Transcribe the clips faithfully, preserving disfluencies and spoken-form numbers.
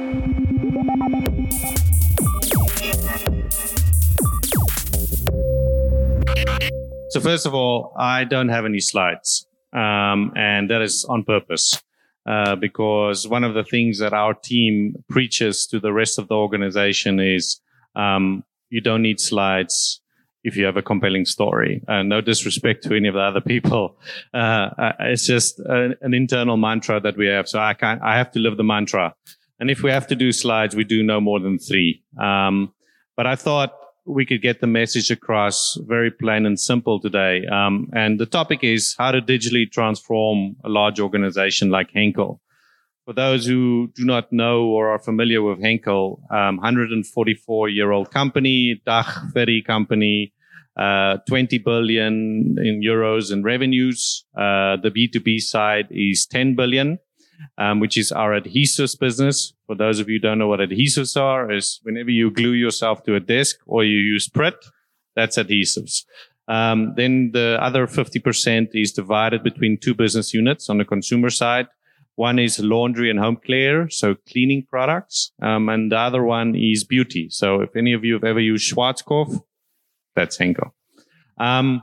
So first of all, I don't have any slides, um, and that is on purpose, uh, because one of the things that our team preaches to the rest of the organization is um, you don't need slides if you have a compelling story. Uh, no disrespect to any of the other people. Uh, it's just a, an internal mantra that we have. So I can't, I have to live the mantra. And if we have to do slides, we do no more than three. Um, but I thought we could get the message across very plain and simple today. Um, and the topic is how to digitally transform a large organization like Henkel. For those who do not know or are familiar with Henkel, um, one hundred forty-four year old company, Dach ferry company, uh, twenty billion in euros in revenues. Uh, the B two B side is ten billion, um, which is our adhesives business. For those of you who don't know what adhesives are, is whenever you glue yourself to a desk or you use Pritt, that's adhesives. Um, then the other fifty percent is divided between two business units on the consumer side. One is laundry and home care, so cleaning products. Um, and the other one is beauty. So if any of you have ever used Schwarzkopf, that's Henkel. Um,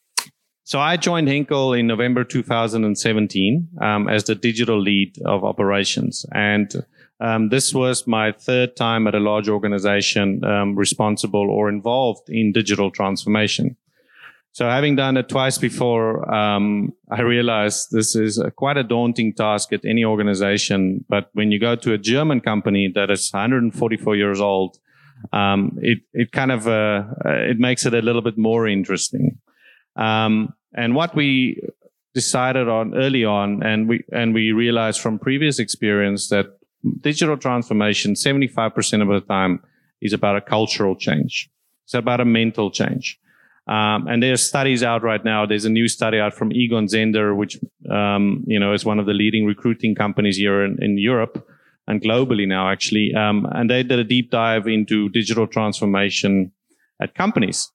so I joined Henkel in November two thousand seventeen um, as the digital lead of operations. And um, this was my third time at a large organization um, responsible or involved in digital transformation. So having done it twice before, um, I realized this is a, quite a daunting task at any organization. But when you go to a German company that is one hundred forty-four years old, um, it, it kind of, uh, it makes it a little bit more interesting. Um, and what we decided on early on, and we, and we realized from previous experience that digital transformation, seventy-five percent of the time is about a cultural change. It's about a mental change. Um, and there's studies out right now. There's a new study out from Egon Zehnder, which, um, you know, is one of the leading recruiting companies here in, in Europe and globally now, actually. Um, and they did a deep dive into digital transformation at companies.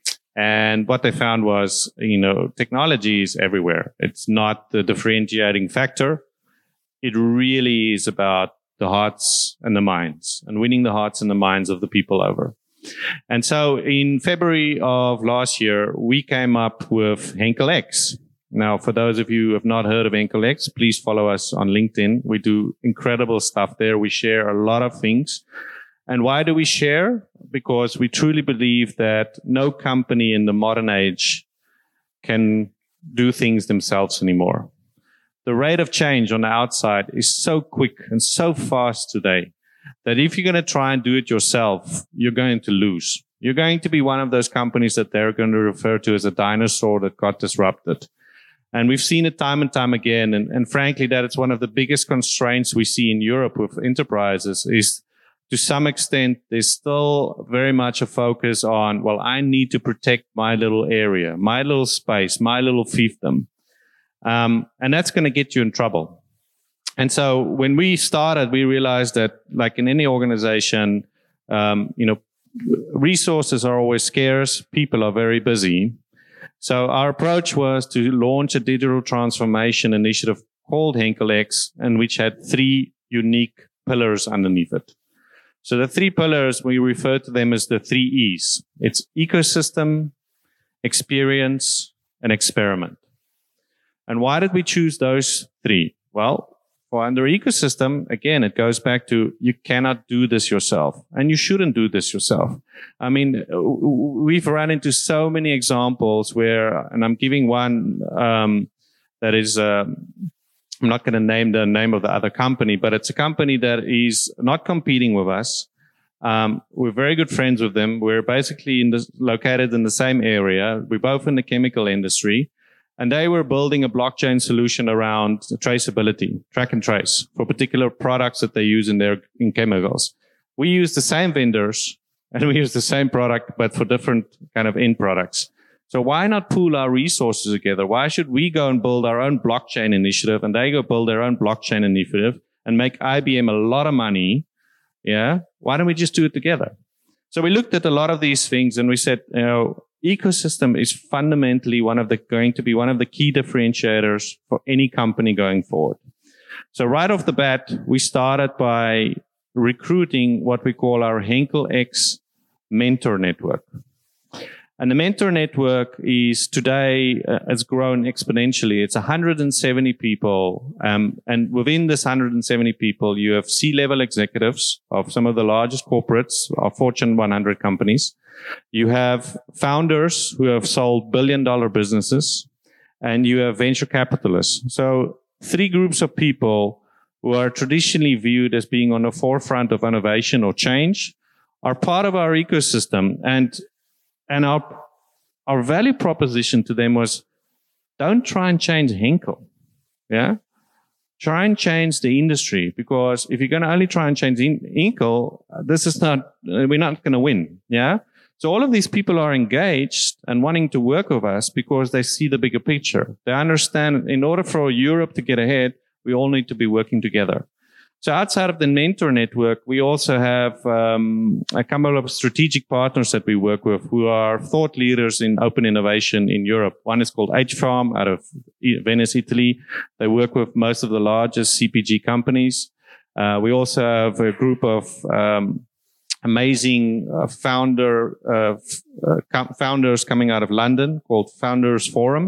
And what they found was, you know, technology is everywhere. It's not the differentiating factor. It really is about the hearts and the minds and winning the hearts and the minds of the people over. And so in February of last year, we came up with Henkel X. Now, for those of you who have not heard of Henkel X, please follow us on LinkedIn. We do incredible stuff there. We share a lot of things. And why do we share? Because we truly believe that no company in the modern age can do things themselves anymore. The rate of change on the outside is so quick and so fast today that if you're going to try and do it yourself, you're going to lose. You're going to be one of those companies that they're going to refer to as a dinosaur that got disrupted. And we've seen it time and time again. And, and frankly, that it's one of the biggest constraints we see in Europe with enterprises is, to some extent, there's still very much a focus on, well, I need to protect my little area, my little space, my little fiefdom. Um, and that's going to get you in trouble. And so when we started, we realized that, like in any organization, um, you know, resources are always scarce. People are very busy. So our approach was to launch a digital transformation initiative called Henkel X, and which had three unique pillars underneath it. So the three pillars, we refer to them as the three E's. It's ecosystem, experience, and experiment. And why did we choose those three? Well, for under ecosystem, again, it goes back to you cannot do this yourself, and you shouldn't do this yourself. I mean, we've run into so many examples where, and I'm giving one um, that is, uh, I'm not going to name the name of the other company, but it's a company that is not competing with us. Um, we're very good friends with them. We're basically in the, located in the same area. We're both in the chemical industry. And they were building a blockchain solution around traceability, track and trace, for particular products that they use in their in chemicals. We use the same vendors and we use the same product, but for different kind of end products. So why not pool our resources together? Why should we go and build our own blockchain initiative and they go build their own blockchain initiative and make I B M a lot of money? Yeah. Why don't we just do it together? So we looked at a lot of these things and we said, you know, ecosystem is fundamentally one of the going to be one of the key differentiators for any company going forward. So right off the bat, we started by recruiting what we call our Henkel X Mentor Network. And the Mentor Network is today, uh, has grown exponentially. It's one hundred seventy people. Um, and within this one hundred seventy people, you have C-level executives of some of the largest corporates of Fortune one hundred companies. You have founders who have sold billion dollar businesses, and you have venture capitalists. So three groups of people who are traditionally viewed as being on the forefront of innovation or change are part of our ecosystem. And And our, our value proposition to them was, don't try and change Henkel. Yeah. Try and change the industry, because if you're going to only try and change Henkel, this is not, we're not going to win. Yeah. So all of these people are engaged and wanting to work with us because they see the bigger picture. They understand in order for Europe to get ahead, we all need to be working together. So outside of the Mentor Network, we also have um, a couple of strategic partners that we work with who are thought leaders in open innovation in Europe. One is called H Farm out of Venice, Italy. They work with most of the largest C P G companies. Uh, we also have a group of um, amazing uh, founder uh, f- uh, co- founders coming out of London called Founders Forum.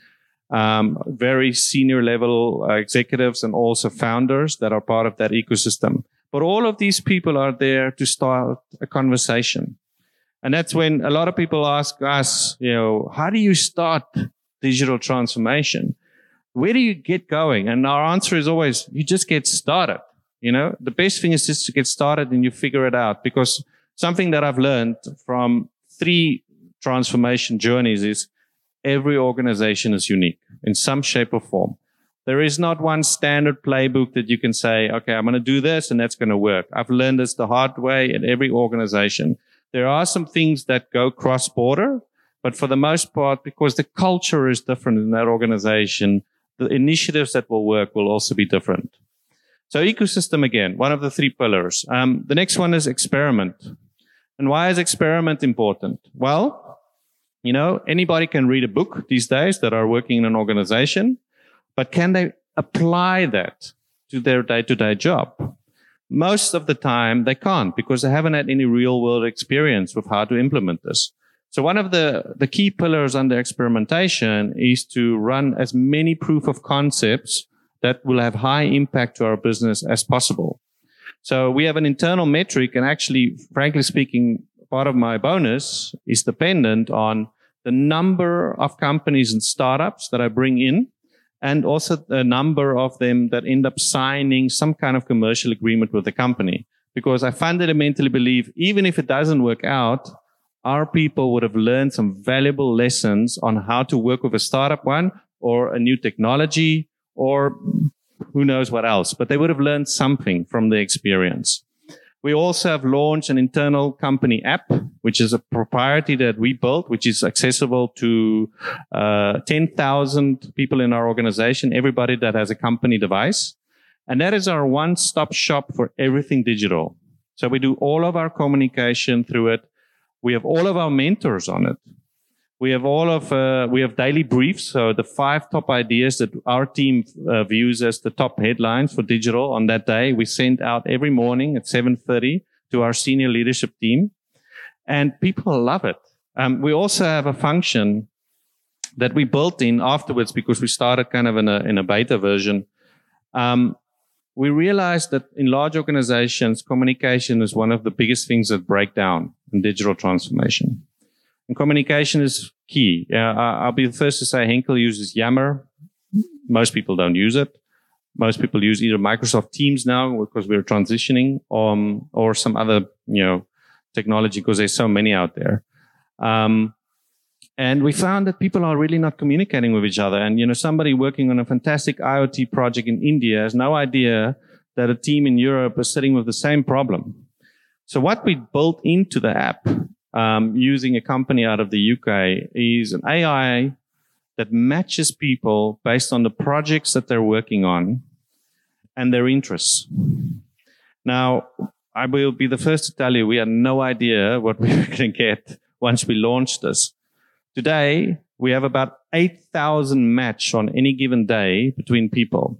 Um, very senior level uh, executives and also founders that are part of that ecosystem. But all of these people are there to start a conversation. And that's when a lot of people ask us, you know, how do you start digital transformation? Where do you get going? And our answer is always, you just get started. You know, the best thing is just to get started and you figure it out. Because something that I've learned from three transformation journeys is every organization is unique in some shape or form. There is not one standard playbook that you can say, okay, I'm going to do this and that's going to work. I've learned this the hard way at every organization. There are some things that go cross-border, but for the most part, because the culture is different in that organization, the initiatives that will work will also be different. So ecosystem, again, one of the three pillars. Um, the next one is experiment. And why is experiment important? Well, you know, anybody can read a book these days that are working in an organization, but can they apply that to their day-to-day job? Most of the time they can't, because they haven't had any real-world experience with how to implement this. So one of the, the key pillars under experimentation is to run as many proof of concepts that will have high impact to our business as possible. So we have an internal metric, and actually, frankly speaking, part of my bonus is dependent on the number of companies and startups that I bring in, and also the number of them that end up signing some kind of commercial agreement with the company. Because I fundamentally believe, even if it doesn't work out, our people would have learned some valuable lessons on how to work with a startup one or a new technology or who knows what else. But they would have learned something from the experience. We also have launched an internal company app, which is a proprietary that we built, which is accessible to uh, ten thousand people in our organization, everybody that has a company device. And that is our one-stop shop for everything digital. So we do all of our communication through it. We have all of our mentors on it. We have all of, uh, we have daily briefs. So the five top ideas that our team uh, views as the top headlines for digital on that day, we send out every morning at seven thirty to our senior leadership team. And people love it. Um, we also have a function that we built in afterwards because we started kind of in a, in a beta version. Um, we realized that in large organizations, communication is one of the biggest things that break down in digital transformation. And communication is key. Uh, I'll be the first to say Henkel uses Yammer. Most people don't use it. Most people use either Microsoft Teams now because we're transitioning, um, or some other, you know, technology because there's so many out there. Um, and we found that people are really not communicating with each other. And, you know, somebody working on a fantastic IoT project in India has no idea that a team in Europe is sitting with the same problem. So what we built into the app, Um, using a company out of the U K, is an A I that matches people based on the projects that they're working on and their interests. Now, I will be the first to tell you, we had no idea what we were going to get once we launched this. Today, we have about eight thousand match on any given day between people.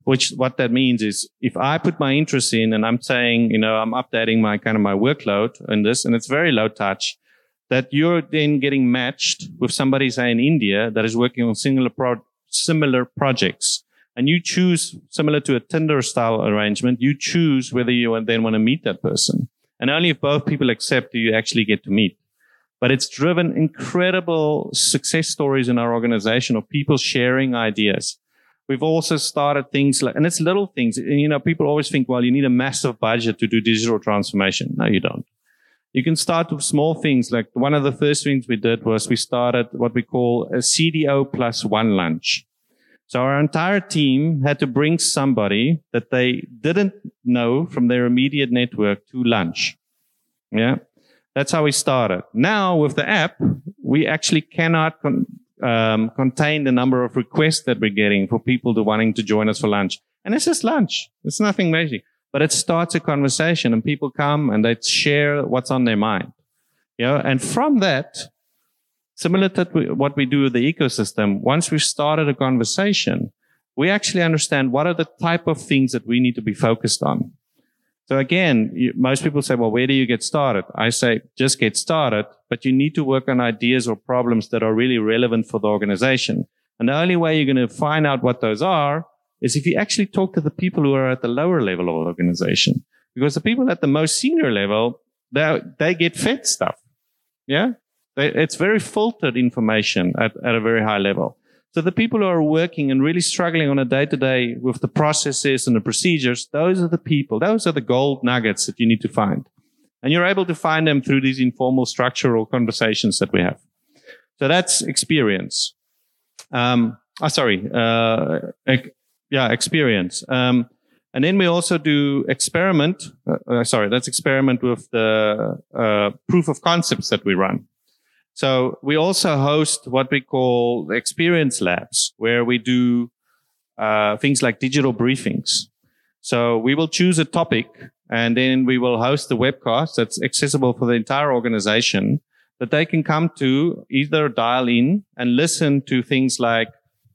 which what that means is if I put my interest in and I'm saying, you know, I'm updating my kind of my workload in this, and it's very low touch, that you're then getting matched with somebody, say, in India that is working on similar pro- similar projects. And you choose, similar to a Tinder style arrangement, you choose whether you then want to meet that person. And only if both people accept do you actually get to meet. But it's driven incredible success stories in our organization of people sharing ideas. We've also started things like, and it's little things. You know, people always think, well, you need a massive budget to do digital transformation. No, you don't. You can start with small things. Like one of the first things we did was we started what we call a C D O plus one lunch. So our entire team had to bring somebody that they didn't know from their immediate network to lunch. Yeah. That's how we started. Now with the app, we actually cannot con- um, contain the number of requests that we're getting for people to wanting to join us for lunch. And it's just lunch. It's nothing major, but it starts a conversation and people come and they share what's on their mind. You know, and from that, similar to what we do with the ecosystem, once we've started a conversation, we actually understand what are the type of things that we need to be focused on. So again, you, most people say, well, where do you get started? I say, just get started, but you need to work on ideas or problems that are really relevant for the organization. And the only way you're going to find out what those are is if you actually talk to the people who are at the lower level of the organization. Because the people at the most senior level, they, they get fed stuff. Yeah? It's very filtered information at, at a very high level. So the people who are working and really struggling on a day-to-day with the processes and the procedures, those are the people, those are the gold nuggets that you need to find. And you're able to find them through these informal structural conversations that we have. So that's experience. Um, oh, sorry. Uh, ec- yeah, experience. Um, and then we also do experiment. Uh, uh, sorry, that's experiment with the uh, proof of concepts that we run. So we also host what we call experience labs, where we do uh, things like digital briefings. So we will choose a topic, and then we will host a webcast that's accessible for the entire organization that they can come to, either dial in and listen to things like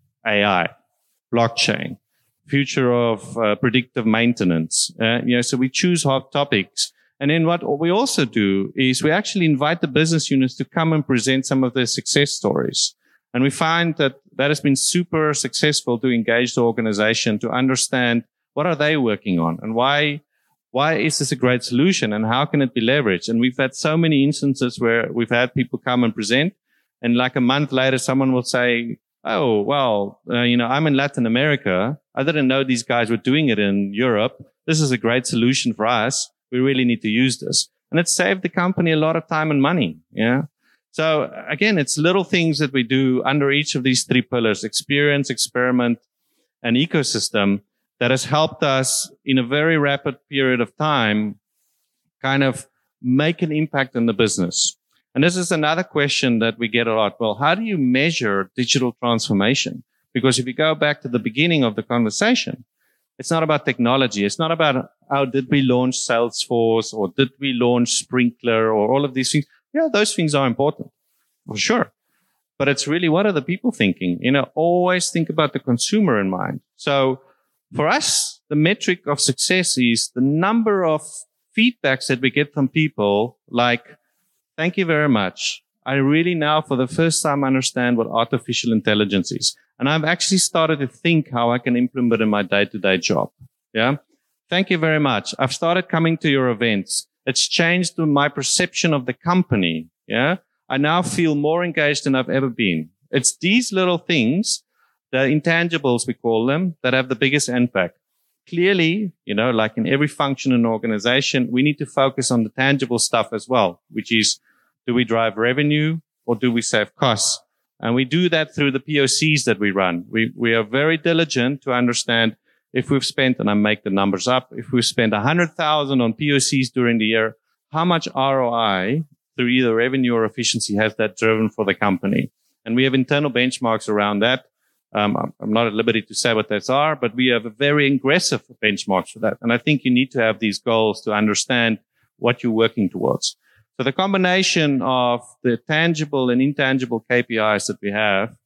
A I, blockchain, future of uh, predictive maintenance. Uh, you know, so we choose hot topics. And then what we also do is we actually invite the business units to come and present some of their success stories. And we find that that has been super successful to engage the organization to understand what are they working on and why, why is this a great solution and how can it be leveraged? And we've had so many instances where we've had people come and present, and like a month later, someone will say, oh, well, uh, you know, I'm in Latin America. I didn't know these guys were doing it in Europe. This is a great solution for us. We really need to use this. And it saved the company a lot of time and money. Yeah. So again, it's little things that we do under each of these three pillars: experience, experiment, and ecosystem, that has helped us in a very rapid period of time kind of make an impact in the business. And this is another question that we get a lot. Well, how do you measure digital transformation? Because if you go back to the beginning of the conversation, it's not about technology. It's not about how did we launch Salesforce or did we launch Sprinklr or all of these things. Yeah, those things are important for sure. But it's really, what are the people thinking? You know, always think about the consumer in mind. So for us, the metric of success is the number of feedbacks that we get from people like, thank you very much. I really now for the first time understand what artificial intelligence is. And I've actually started to think how I can implement it in my day-to-day job. Yeah. Thank you very much. I've started coming to your events. It's changed my perception of the company. Yeah. I now feel more engaged than I've ever been. It's these little things, the intangibles, we call them, that have the biggest impact. Clearly, you know, like in every function in an organization, we need to focus on the tangible stuff as well, which is, do we drive revenue or do we save costs? And we do that through the P O Cs that we run. We, we are very diligent to understand if we've spent, and I make the numbers up, if we've spent one hundred thousand on P O Cs during the year, how much R O I through either revenue or efficiency has that driven for the company? And we have internal benchmarks around that. Um, I'm not at liberty to say what those are, but we have a very aggressive benchmarks for that. And I think you need to have these goals to understand what you're working towards. So the combination of the tangible and intangible K P Is that we have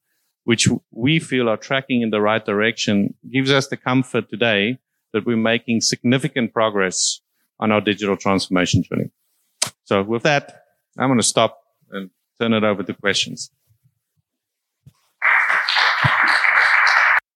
which we feel are tracking in the right direction, gives us the comfort today that we're making significant progress on our digital transformation journey. So with that, I'm going to stop and turn it over to questions.